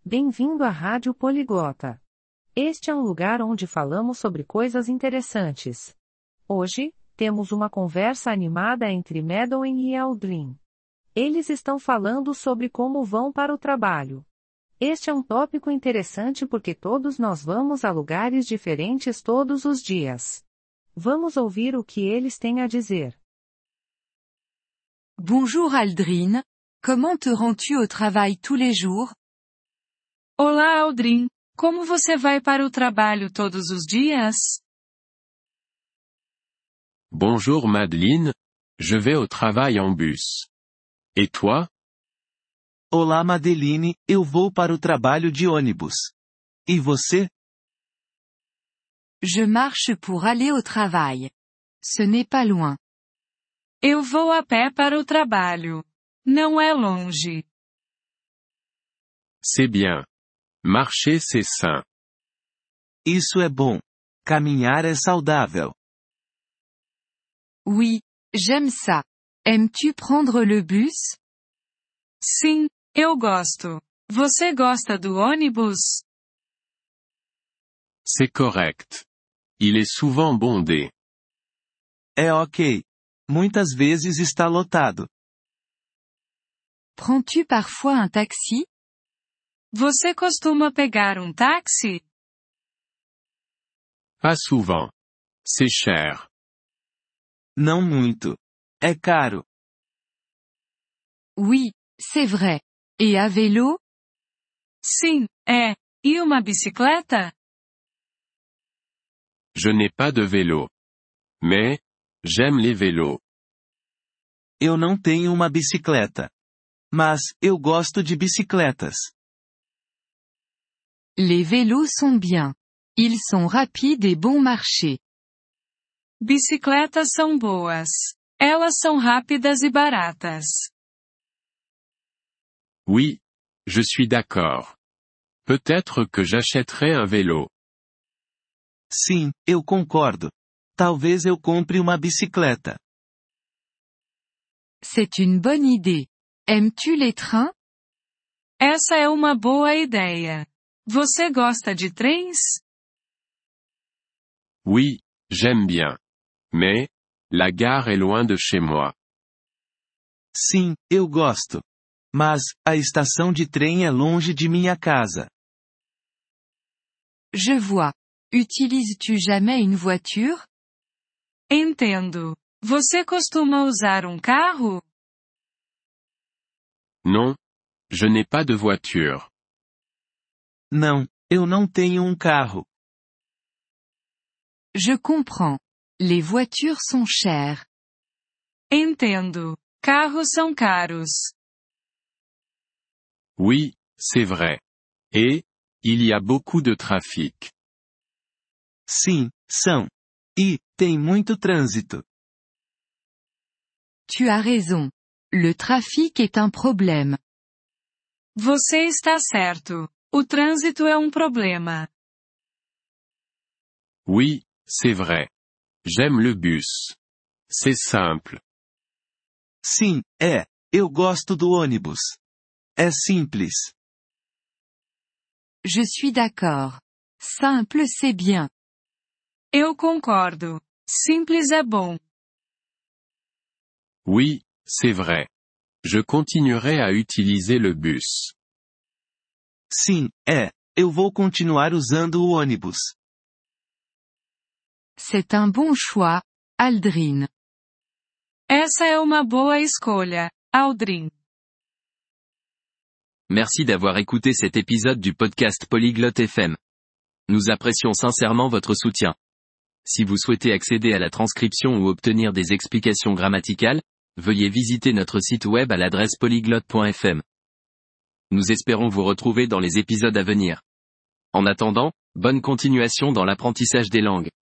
Bem-vindo à Rádio Poliglota. Este é um lugar onde falamos sobre coisas interessantes. Hoje, temos uma conversa animada entre Madeline e Aldrin. Eles estão falando sobre como vão para o trabalho. Este é um tópico interessante porque todos nós vamos a lugares diferentes todos os dias. Vamos ouvir o que eles têm a dizer. Bonjour Aldrin, comment te rends-tu au travail tous les jours? Olá Aldrin, como você vai para o trabalho todos os dias? Bonjour Madeleine, je vais au travail en bus. Et toi? Olá Madeline, eu vou para o trabalho de ônibus. E você? Je marche pour aller au travail. Ce n'est pas loin. Eu vou a pé para o trabalho. Não é longe. C'est bien. Marcher c'est sain. Isso é bom. Caminhar é saudável. Oui, j'aime ça. Aimes-tu prendre le bus? Sim, eu gosto. Você gosta do ônibus? C'est correct. Il est souvent bondé. É ok. Muitas vezes está lotado. Prends-tu parfois un taxi? Você costuma pegar um táxi? Pas souvent. C'est cher. Não muito. É caro. Oui, c'est vrai. Et à vélo? Sim, é. E uma bicicleta? Je n'ai pas de vélo. Mais, j'aime les vélos. Eu não tenho uma bicicleta. Mas, eu gosto de bicicletas. Les vélos sont bien. Ils sont rapides et bon marché. Bicicletas são boas. Elas são rápidas e baratas. Oui, je suis d'accord. Peut-être que j'achèterai un vélo. Sim, eu concordo. Talvez eu compre uma bicicleta. C'est une bonne idée. Aimes-tu les trains? Essa é uma boa ideia. Você gosta de trens? Oui, j'aime bien. Mais, la gare est loin de chez moi. Sim, eu gosto. Mas, a estação de trem é longe de minha casa. Je vois. Utilises-tu jamais une voiture? Entendo. Você costuma usar um carro? Non. Je n'ai pas de voiture. Não, eu não tenho um carro. Je comprends. Les voitures sont chères. Entendo. Carros são caros. Oui, c'est vrai. Et, il y a beaucoup de trafic. Sim, são. E, tem muito trânsito. Tu as raison. Le trafic est un problème. Você está certo. O trânsito é um problema. Oui, c'est vrai. J'aime le bus. C'est simple. Sim, é. Eu gosto do ônibus. É simples. Je suis d'accord. Simple c'est bien. Eu concordo. Simples é bom. Oui, c'est vrai. Je continuerai à utiliser le bus. Sim, é. Eu vou continuar usando o ônibus. C'est un bon choix, Aldrin. Essa é uma boa escolha, Aldrin. Merci d'avoir écouté cet épisode du podcast Polyglotte FM. Nous apprécions sincèrement votre soutien. Si vous souhaitez accéder à la transcription ou obtenir des explications grammaticales, veuillez visiter notre site web à l'adresse polyglotte.fm. Nous espérons vous retrouver dans les épisodes à venir. En attendant, bonne continuation dans l'apprentissage des langues.